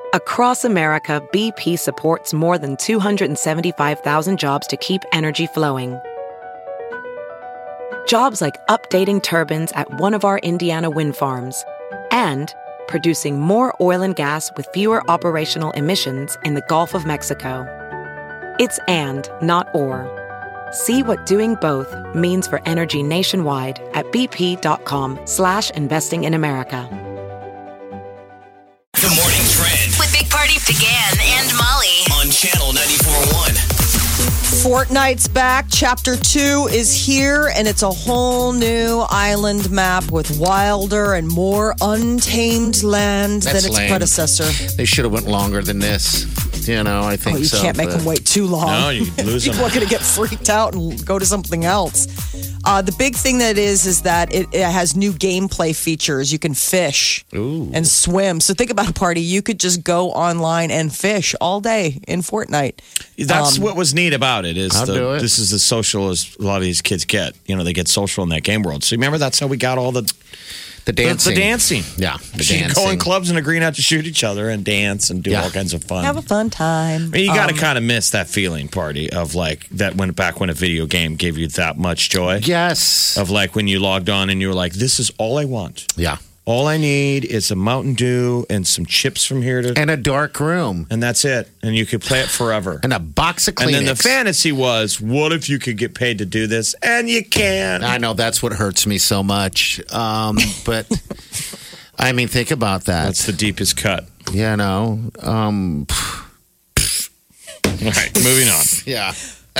Across America, BP supports more than 275,000 jobs to keep energy flowing. Jobs like updating turbines at one of our Indiana wind farms and producing more oil and gas with fewer operational emissions in the Gulf of Mexico. It's and, not or. See what doing both means for energy nationwide at bp.com/investing in America. The Morning Trend With Big Party began and Molly. on Channel 94.1. Fortnite's back. Chapter 2 is here, and it's a whole new island map with wilder and more untamed land That's than its lame. predecessor. They should have went longer than this. You know, I think Oh, you so. can't make but- them wait too long. No, you lose them. People are going to get freaked out and go to something else. The big thing that is that it has new gameplay features. You can fish and swim. So think about a party. You could just go online and fish all day in Fortnite. That's what was neat about it. Is I'll do it. This is as social as a lot of these kids get. You know, they get social in that game world. So remember, that's how we got all the dancing. The dancing. Yeah, the You dancing. go in clubs and agree not to shoot each other and dance and do Yeah. all kinds of fun. Have a fun time. I mean, you got to kind of miss that feeling, party, of like that when back when a video game gave you that much joy. Yes. Of like when you logged on and you were like, this is all I want. Yeah. All I need is a Mountain Dew and some chips from here to. And a dark room. And that's it. And you could play it forever. And a box of Kleenex. And then the fantasy was, what if you could get paid to do this? And you can. I know that's what hurts me so much. But I mean, think about that. That's the deepest cut. You know. All right, moving on. Yeah.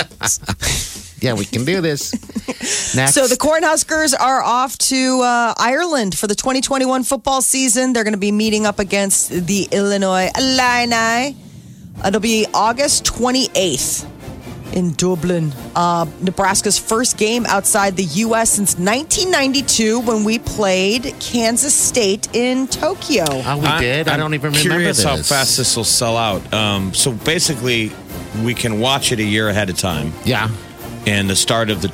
Yeah, we can do this. Next. So the Cornhuskers are off to Ireland for the 2021 football season. They're going to be meeting up against the Illinois Illini. It'll be August 28th in Dublin. Nebraska's first game outside the U.S. since 1992 when we played Kansas State in Tokyo. Oh, we did? I don't even remember Curious this. how fast this will sell out. So basically, we can watch it a year ahead of time. Yeah. And the start of the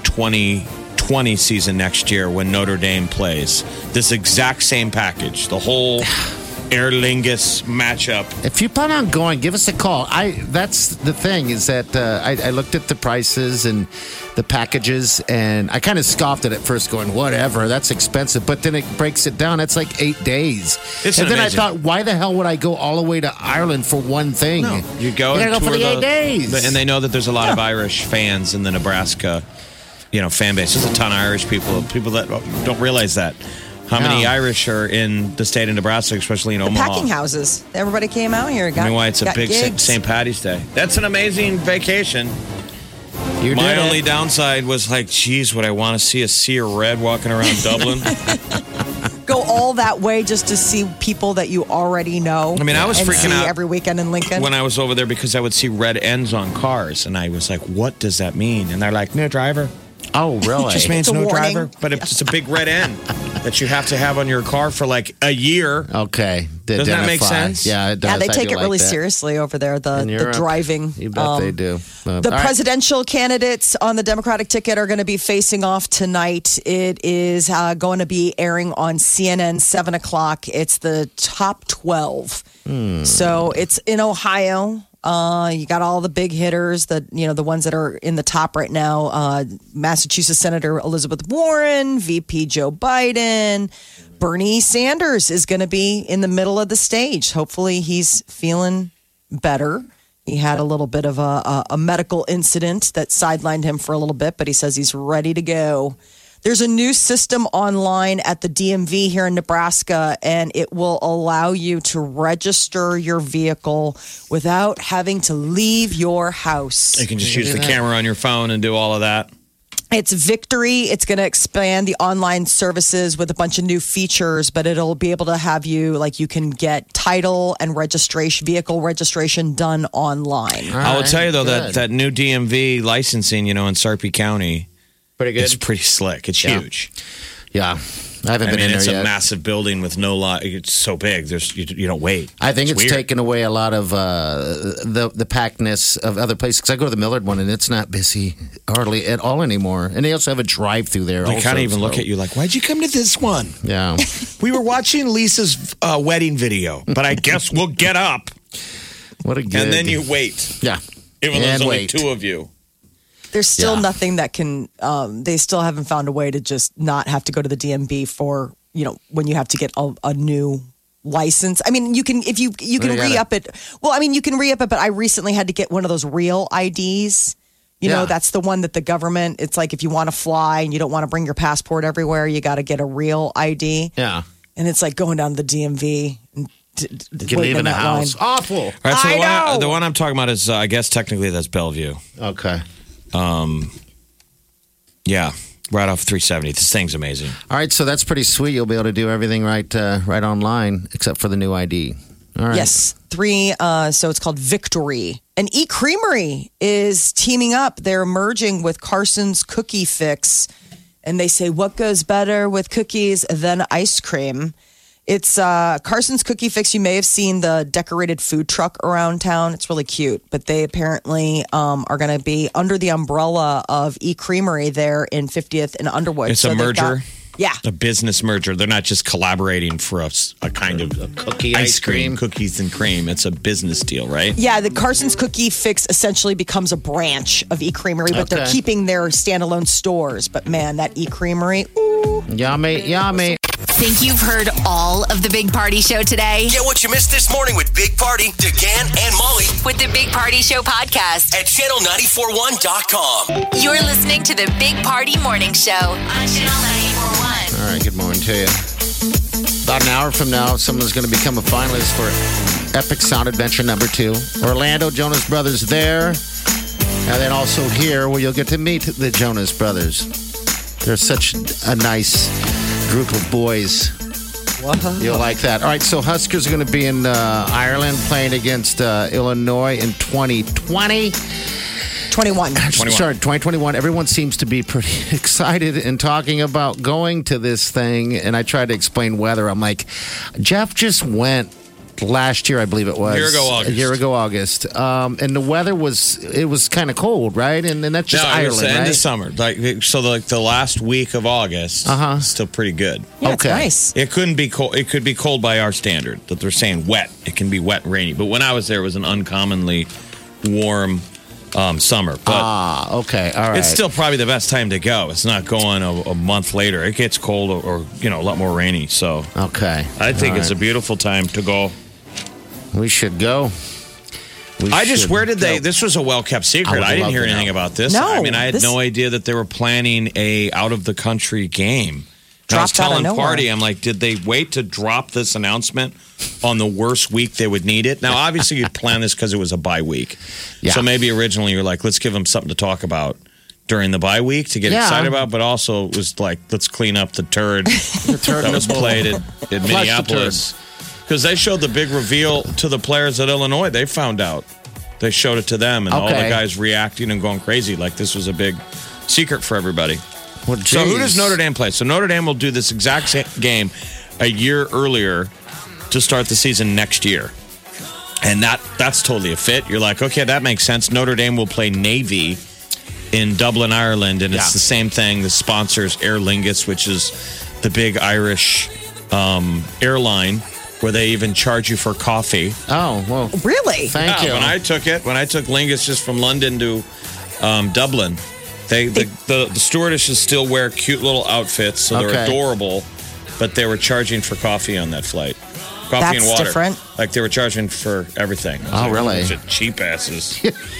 2020 season next year when Notre Dame plays. This exact same package. The whole Aer Lingus matchup. If you plan on going, give us a call. That's the thing is that I looked at the prices and the packages, and I kind of scoffed at it first, going, "Whatever, that's expensive." But then it breaks it down. It's like 8 days, Isn't and then amazing? I thought, why the hell would I go all the way to Ireland for one thing? No, you go You and gotta go for tour the 8 days, And they know that there's a lot of Irish fans in the Nebraska, fan base. There's a ton of Irish people that don't realize that. How many No. Irish are in the state of Nebraska, especially in The Omaha? packing houses. Everybody came out here. I mean, why it's a got big gigs. St. Patty's Day. That's an amazing vacation. You My did only it. downside was like, geez, would I want to see a sea of red walking around Dublin? Go all that way just to see people that you already know. I mean, I was and freaking see out every weekend in Lincoln. when I was over there because I would see red ends on cars, and I was like, what does that mean? And they're like, no driver. Oh, really? It just means It's a no warning. driver, but it's a big red end that you have to have on your car for like a year. Okay. To Doesn't that make identify. sense? Yeah, it does. yeah, they I take do it really like that. seriously over there, In the Europe. driving. You bet they do. The All right. presidential candidates on the Democratic ticket are going to be facing off tonight. It is going to be airing on CNN, 7 o'clock. It's the top 12. So it's in Ohio. You got all the big hitters, the ones that are in the top right now. Massachusetts Senator Elizabeth Warren, VP Joe Biden, Bernie Sanders is going to be in the middle of the stage. Hopefully he's feeling better. He had a little bit of a medical incident that sidelined him for a little bit, but he says he's ready to go. There's a new system online at the DMV here in Nebraska, and it will allow you to register your vehicle without having to leave your house. You can just use the camera on your phone and do all of that. It's Victory. It's going to expand the online services with a bunch of new features, but it'll be able to have you, you can get title and registration, vehicle registration done online. I will tell you, though, good. that new DMV licensing, in Sarpy County, Pretty good. it's pretty slick. It's Yeah. huge. Yeah. I haven't been in it's there a yet. massive building with no lot. It's so big. You don't wait. I think it's weird. taken away a lot of the packedness of other places. Because I go to the Millard one and it's not busy hardly at all anymore. And they also have a drive-through there. They also, kind of even look so- at you like, why'd you come to this one? Yeah. We were watching Lisa's wedding video, but I guess we'll get up. What a good. And then you wait. Yeah. Even though there's And only wait. 2 of you. There's still Yeah. nothing that can. They still haven't found a way to just not have to go to the DMV for when you have to get a new license. I mean, you can if you can Well, you gotta- re-up it. Well, I mean, you can re-up it, but I recently had to get one of those real IDs. Yeah. That's the one that the government. It's like if you want to fly and you don't want to bring your passport everywhere, you got to get a real ID. Yeah. And it's like going down to the DMV and You're leaving the house. Awful. All right, so I know. the one I'm talking about is, I guess technically that's Bellevue. Okay. Yeah, right off 370. This thing's amazing. All right, so that's pretty sweet. You'll be able to do everything right online, except for the new ID. All right. Yes, 3. So it's called Victory. And eCreamery is teaming up. They're merging with Carson's Cookie Fix. And they say, what goes better with cookies than ice cream? It's Carson's Cookie Fix. You may have seen the decorated food truck around town. It's really cute. But they apparently are going to be under the umbrella of eCreamery there in 50th and Underwood. It's a they've merger? Yeah. A business merger. They're not just collaborating for a kind of Cookie ice cream, cookies and cream. It's a business deal, right? Yeah, the Carson's Cookie Fix essentially becomes a branch of eCreamery, but they're Okay. keeping their standalone stores. But man, that eCreamery, ooh. Yummy, yummy. Think you've heard all of the Big Party Show today? Get what you missed this morning with Big Party, DeGan, and Molly With the Big Party Show podcast. at channel941.com. You're listening to the Big Party Morning Show on Channel 941. All right, good morning to you. About an hour from now, someone's going to become a finalist for Epic Sound Adventure #2. Orlando, Jonas Brothers there. And then also here, where you'll get to meet the Jonas Brothers. They're such a nice group of boys. You'll like that. All right, so Huskers are going to be in Ireland playing against Illinois in 2020. 21. Sorry, 2021. Everyone seems to be pretty excited and talking about going to this thing. And I tried to explain weather. I'm like, Jeff just went last year, I believe it was. A year ago August. And the weather was kind of cold, right? And that's just No, it was Ireland, the end right? of summer. Like the last week of August is still pretty good. Yeah, it's Okay. nice. It couldn't be cold. It could be cold by our standard. That they're saying wet. It can be wet and rainy. But when I was there, it was an uncommonly warm summer. But Okay. All right. it's still probably the best time to go. It's not going a month later. It gets cold or a lot more rainy. So Okay. I think All it's a right. beautiful time to go. We should go. Where did they? This was a well kept secret. would I didn't love hear to anything know. about this. No, I mean, I had this- no idea that they were planning a out of the country game. And I was Dropped out of telling nowhere. Party, I'm like, did they wait to drop this announcement on the worst week they would need it? Now, obviously, you planned this because it was a bye week. Yeah. So maybe originally you're like, let's give them something to talk about during the bye week to get Yeah. excited about. But also, it was like, let's clean up the turd turd that in was the bowl. played in the Minneapolis. Because they showed the big reveal to the players at Illinois. They found out. They showed it to them, and all the Okay. guys reacting and going crazy like this was a big secret for everybody. Well, So who geez. does Notre Dame play? So Notre Dame will do this exact same game a year earlier to start the season next year. And that's totally a fit. You're like, okay, that makes sense. Notre Dame will play Navy in Dublin, Ireland, and it's Yeah. the same thing. The sponsors Aer Lingus, which is the big Irish airline, where they even charge you for coffee. Oh, well, Really? thank you. When I took Lingus just from London to Dublin, the stewardesses still wear cute little outfits, so they're Okay. adorable. But they were charging for coffee on that flight, coffee and That's water. different. Like they were charging for everything. I was Oh, like, really? bunch of cheap asses.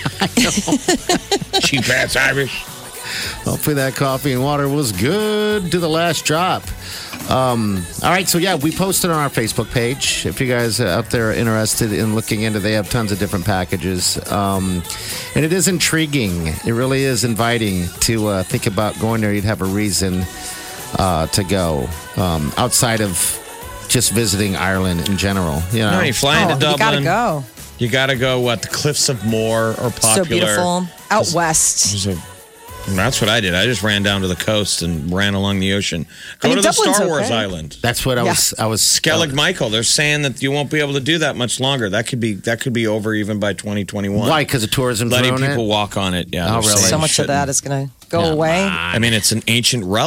Cheap ass Irish. Hopefully that coffee and water was good to the last drop. All right, so yeah, we posted on our Facebook page. If you guys out there are interested in looking into, they have tons of different packages, and it is intriguing. It really is inviting to think about going there. You'd have a reason to go outside of just visiting Ireland in general. You know, No, you fly into You Dublin. gotta go. You gotta go. What the Cliffs of Moher are popular. So beautiful. Out west. That's what I did. I just ran down to the coast and ran along the ocean. Go mean, to the Dublin's Star Wars okay. island. that's what I was. Skellig Michael. They're saying that you won't be able to do that much longer. That could be over even by 2021. Why? Because of tourism. Letting throwing people it? walk on it. Yeah. Oh, they're really? saying So much of shouldn't. that is going to go away. I mean, it's an ancient relic.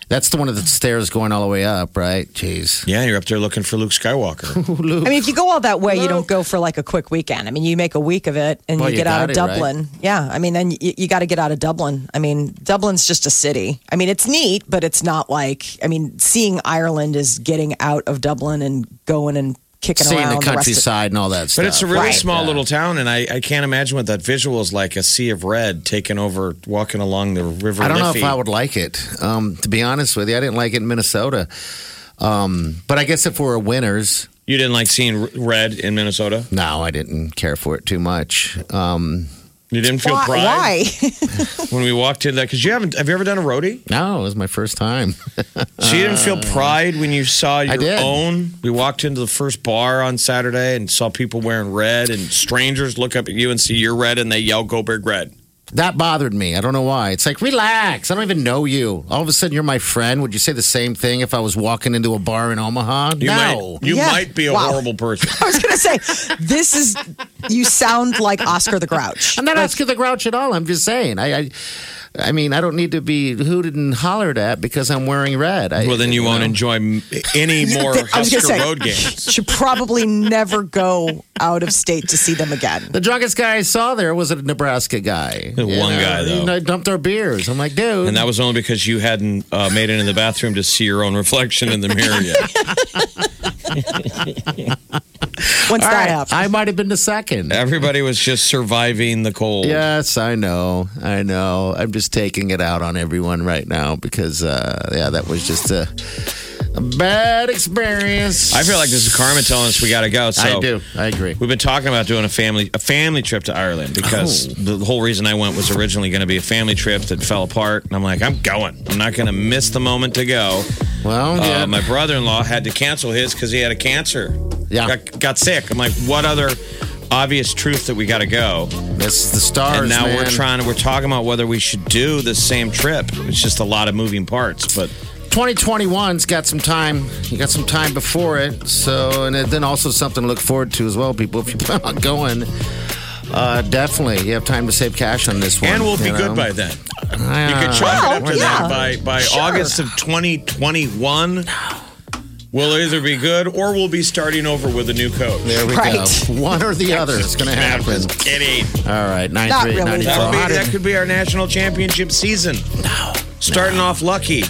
That's the one of the stairs going all the way up, right? Jeez. Yeah, you're up there looking for Luke Skywalker. I mean, if you go all that way, you don't go for like a quick weekend. I mean, you make a week of it and Well, you you get out got of it, Dublin. right? Yeah, I mean, then you got to get out of Dublin. I mean, Dublin's just a city. I mean, it's neat, but it's not like, I mean, seeing Ireland is getting out of Dublin and going and kicking Seeing around the countryside and all that stuff. But it's a really Right. small little town, and I can't imagine what that visual is like, a sea of red taking over, walking along the river I don't know Liffey. if I would like it. To be honest with you, I didn't like it in Minnesota. But I guess if we're winners, You didn't like seeing red in Minnesota? no, I didn't care for it too much. You didn't feel Why? pride Why? when we walked in that? Because have you ever done a roadie? No, it was my first time. So you didn't feel pride when you saw your did. own? We walked into the first bar on Saturday and saw people wearing red, and strangers look up at you and see you're red, and they yell, "Go Big Red." That bothered me. I don't know why. It's like, relax. I don't even know you. All of a sudden, you're my friend. Would you say the same thing if I was walking into a bar in Omaha? You No. Yeah. might be a Wow. horrible person. I was going to say, you sound like Oscar the Grouch. I'm not asking the grouch at all. I'm just saying. I mean, I don't need to be hooted and hollered at because I'm wearing red. Well, then you won't enjoy any more I was Husker gonna say, Road games. Should probably never go out of state to see them again. The drunkest guy I saw there was a Nebraska guy. One guy, though. You know, dumped our beers. I'm like, dude. And that was only because you hadn't made it in the bathroom to see your own reflection in the mirror yet. Once All that right, happens. I might have been the second. Everybody was just surviving the cold. Yes, I know. I'm just taking it out on everyone right now because, that was just a bad experience. I feel like this is karma telling us we got to go. So I do. I agree. We've been talking about doing a family trip to Ireland because the whole reason I went was originally going to be a family trip that fell apart. And I'm like, I'm going. I'm not going to miss the moment to go. Well, yeah. My brother-in-law had to cancel his because he had a cancer. Yeah. Got sick. I'm like, what other obvious truth that we got to go? This is the stars, And now man. we're talking about whether we should do the same trip. It's just a lot of moving parts, but 2021's got some time. You got some time before it. So, and then also something to look forward to as well, people. If you plan on going, definitely you have time to save cash on this one. and we'll be you good know? by then. You could chalk it up to yeah. that by Sure. August of 2021. We'll either be good or we'll be starting over with a new coach. There we Right. go. One or the other is going to happen. Just kidding. All right, Not 93, really, 94. That could be our national championship season. Starting off lucky.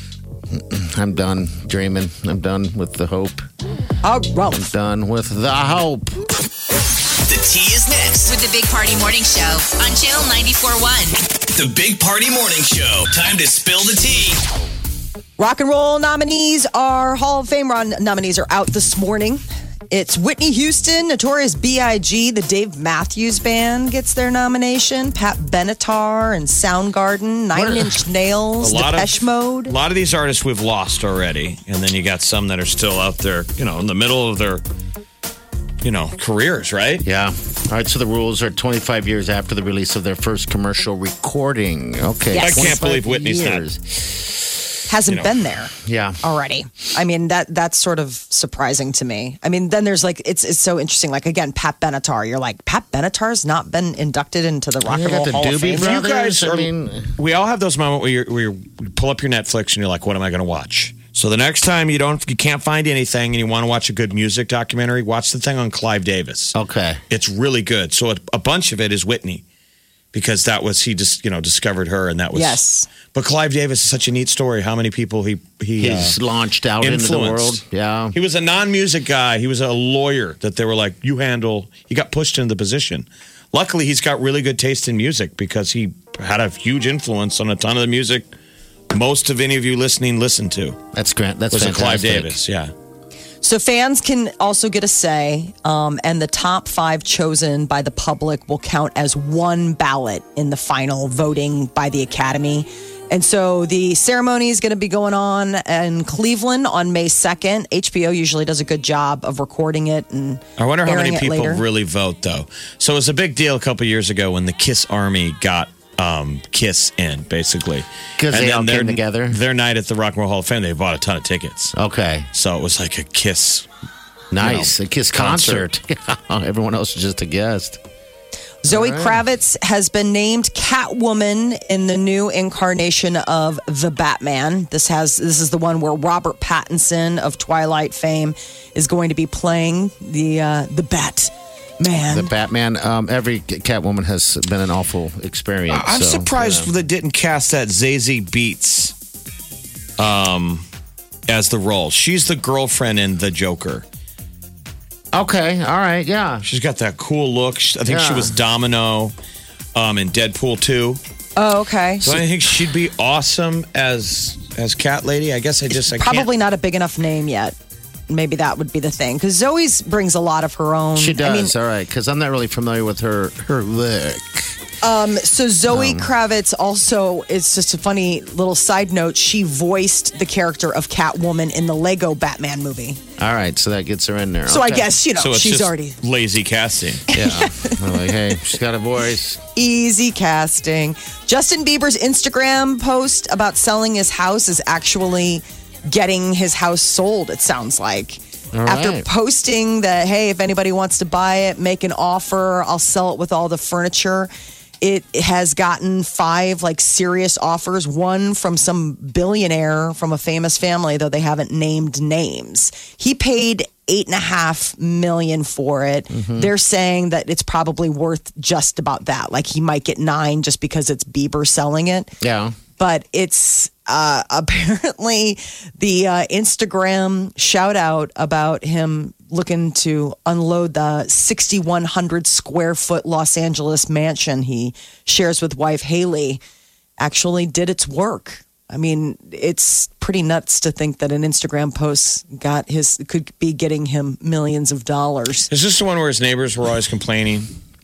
I'm done dreaming. I'm done with the hope. Oh, well, Done with the hope. The tea is next. With the Big Party Morning Show on Channel 94.1. The Big Party Morning Show. Time to spill the tea. rock and roll nominees are Hall of Fame nominees are out this morning. It's Whitney Houston, Notorious B.I.G., the Dave Matthews Band gets their nomination, Pat Benatar and Soundgarden, Nine Inch Nails, Depeche Mode. A lot of these artists we've lost already, and then you got some that are still out there, in the middle of their, careers, right? Yeah. All right, so the rules are 25 years after the release of their first commercial recording. Okay. Yes. I can't 25 believe Whitney's not. years. Hasn't been there Yeah. already. I mean, that's sort of surprising to me. I mean, then there's like, it's so interesting. Like, again, Pat Benatar. You're like, Pat Benatar's not been inducted into the Rock and You got Roll the Hall of Doobie Fame. Brothers. You guys I are, mean- we all have those moments where you pull up your Netflix and you're like, what am I going to watch? So the next time you can't find anything and you want to watch a good music documentary, watch the thing on Clive Davis. Okay. It's really good. So a bunch of it is Whitney because he just, discovered her and that was. Yes. But Clive Davis is such a neat story. How many people He's launched out into the world. influenced. Yeah. He was a non-music guy. He was a lawyer that they were like, he got pushed into the position. Luckily, he's got really good taste in music because he had a huge influence on a ton of the music most of any of you listening listen to. That's great. That's Was a Clive fantastic. Davis, yeah. So fans can also get a say, and the top 5 chosen by the public will count as one ballot in the final voting by the Academy. And so the ceremony is going to be going on in Cleveland on May 2nd. HBO usually does a good job of recording it and I wonder how many airing it people later. really vote, though. So it was a big deal a couple years ago when the Kiss Army got Kiss in, basically. 'Cause And they then all came together? Their night at the Rock and Roll Hall of Fame, they bought a ton of tickets. Okay. So it was like a Kiss. Nice. A Kiss concert. Everyone else is just a guest. Zoe Kravitz has been named Catwoman in the new incarnation of the Batman. This is the one where Robert Pattinson of Twilight fame is going to be playing the Batman. The Batman. Every Catwoman has been an awful experience. I'm surprised they didn't cast that Zazie Beetz as the role. She's the girlfriend in The Joker. Okay, all right, yeah. She's got that cool look. I think she was Domino in Deadpool 2. Oh, okay. So I think she'd be awesome as Cat Lady. I guess I probably can't. not a big enough name yet. Maybe that would be the thing. Because Zoe's brings a lot of her own. She does, all right. Because I'm not really familiar with her look. So Zoe Kravitz also, it's just a funny little side note. She voiced the character of Catwoman in the Lego Batman movie. All right, so that gets her in there. So I guess, So it's she's just already lazy casting. Yeah. I'm like, hey, she's got a voice. easy casting. Justin Bieber's Instagram post about selling his house is actually getting his house sold, it sounds like. All After right. posting that, hey, if anybody wants to buy it, make an offer, I'll sell it with all the furniture. It has gotten 5 serious offers, one from some billionaire from a famous family, though they haven't named names. He paid $8.5 million for it. They're saying that it's probably worth just about that. He might get 9 just because it's Bieber selling it. Yeah. But it's apparently the Instagram shout out about him looking to unload the 6,100 square foot Los Angeles mansion he shares with wife Haley actually did its work. I mean, it's pretty nuts to think that an Instagram post could be getting him millions of dollars. Is this the one where his neighbors were always complaining?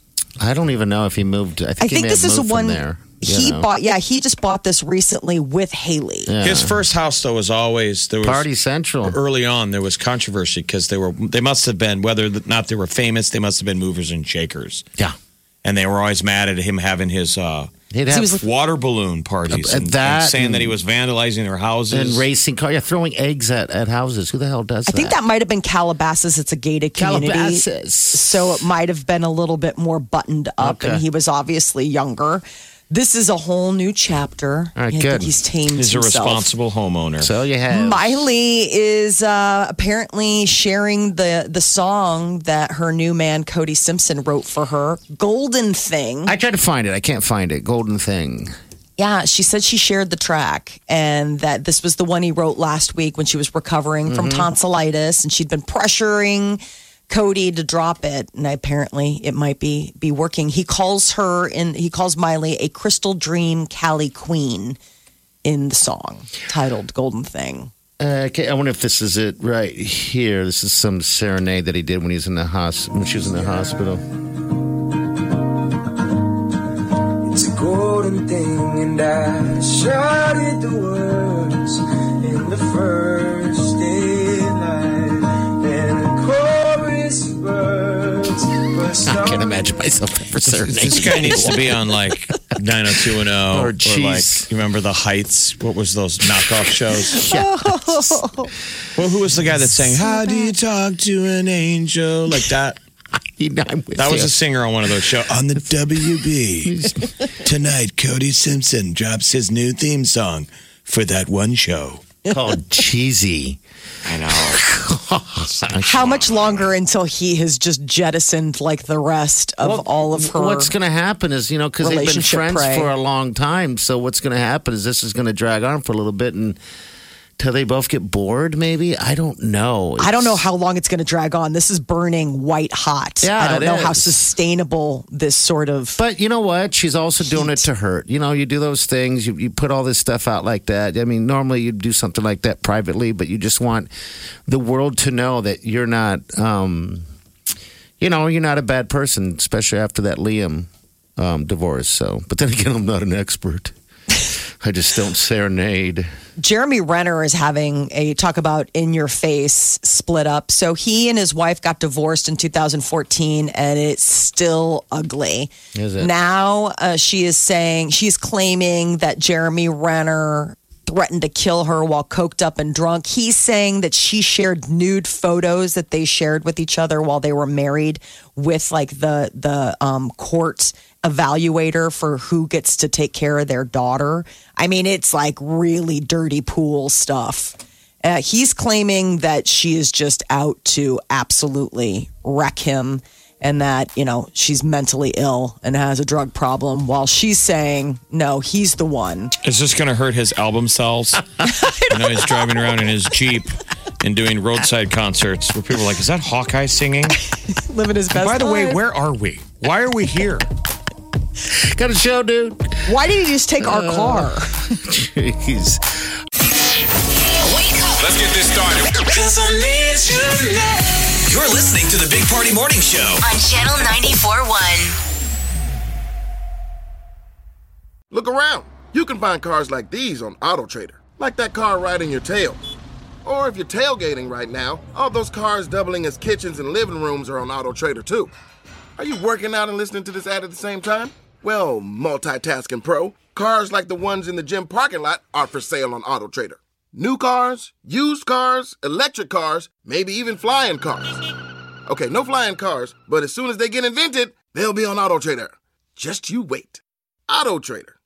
I don't even know if he moved. I think, he may this have is the moved one from there. he bought. Yeah, he just bought this recently with Haley. Yeah. His first house, though, was always there was Party Central. Early on, there was controversy because they must have been, whether or not they were famous, they must have been movers and shakers. Yeah. And they were always mad at him having his He'd have water balloon parties and saying that he was vandalizing their houses. and racing car. Yeah, throwing eggs at houses. Who the hell does I that? think that might have been Calabasas. It's a gated community. Calabasas. So it might have been a little bit more buttoned up, Okay. and he was obviously younger. This is a whole new chapter. All right, I good. think he's tamed He's a himself. responsible homeowner. So you have. Miley is apparently sharing the song that her new man Cody Simpson wrote for her, "Golden Thing." I tried to find it. I can't find it. Golden Thing. Yeah, she said she shared the track and that this was the one he wrote last week when she was recovering from tonsillitis, and she'd been pressuring Cody to drop it, and apparently it might be working. He calls Miley a crystal dream Cali queen in the song titled "Golden Thing." Okay, I wonder if this is it right here. This is some serenade that he did when he was in the when she was in the hospital. It's a golden thing, and I shouted the words in the first daylight, and the chorus birds burst I can't on imagine myself ever serenading. This guy needs to be on 90210 Or or Cheese. you remember The Heights? What was those knockoff shows? Yeah. Well, who was the guy that sang "How Do You Talk to an Angel" like that? I'm with That was you. a singer on one of those shows. On the WB. Tonight, Cody Simpson drops his new theme song for that one show. called Cheesy. I know. How much longer until he has just jettisoned like the rest of all of her? What's going to happen is, because they've been relationship friends prey. for a long time. So what's going to happen is this is going to drag on for a little bit until they both get bored, maybe? I don't know. I don't know how long it's going to drag on. This is burning white hot. Yeah, I don't it know how is. sustainable this sort of. But you know what? She's also doing it to hurt. You do those things. You put all this stuff out like that. I mean, normally you'd do something like that privately, but you just want the world to know that you're not, you're not a bad person, especially after that Liam divorce. So, but then again, I'm not an expert. I just don't serenade. Jeremy Renner is having a talk about in your face split up. So he and his wife got divorced in 2014 and it's still ugly. Is it? Now she's claiming that Jeremy Renner threatened to kill her while coked up and drunk. He's saying that she shared nude photos that they shared with each other while they were married with like the court evaluator for who gets to take care of their daughter. I mean, it's like really dirty pool stuff. He's claiming that she is just out to absolutely wreck him and that, you know, she's mentally ill and has a drug problem, while she's saying, no, he's the one. Is this going to hurt his album sales? You know, he's driving around in his Jeep and doing roadside concerts where people are like, is that Hawkeye singing? Living his best By the way, life. where are we? Why are we here? Got a show, dude. Why did he just take our car? Jeez. Wake up Let's get this started. You're listening to the Big Party Morning Show. on Channel 94.1. Look around. You can find cars like these on AutoTrader, like that car riding your tail. Or if you're tailgating right now, all those cars doubling as kitchens and living rooms are on AutoTrader too. Are you working out and listening to this ad at the same time? Well, multitasking pro, cars like the ones in the gym parking lot are for sale on AutoTrader. New cars, used cars, electric cars, maybe even flying cars. Okay, no flying cars, but as soon as they get invented, they'll be on AutoTrader. Just you wait. AutoTrader.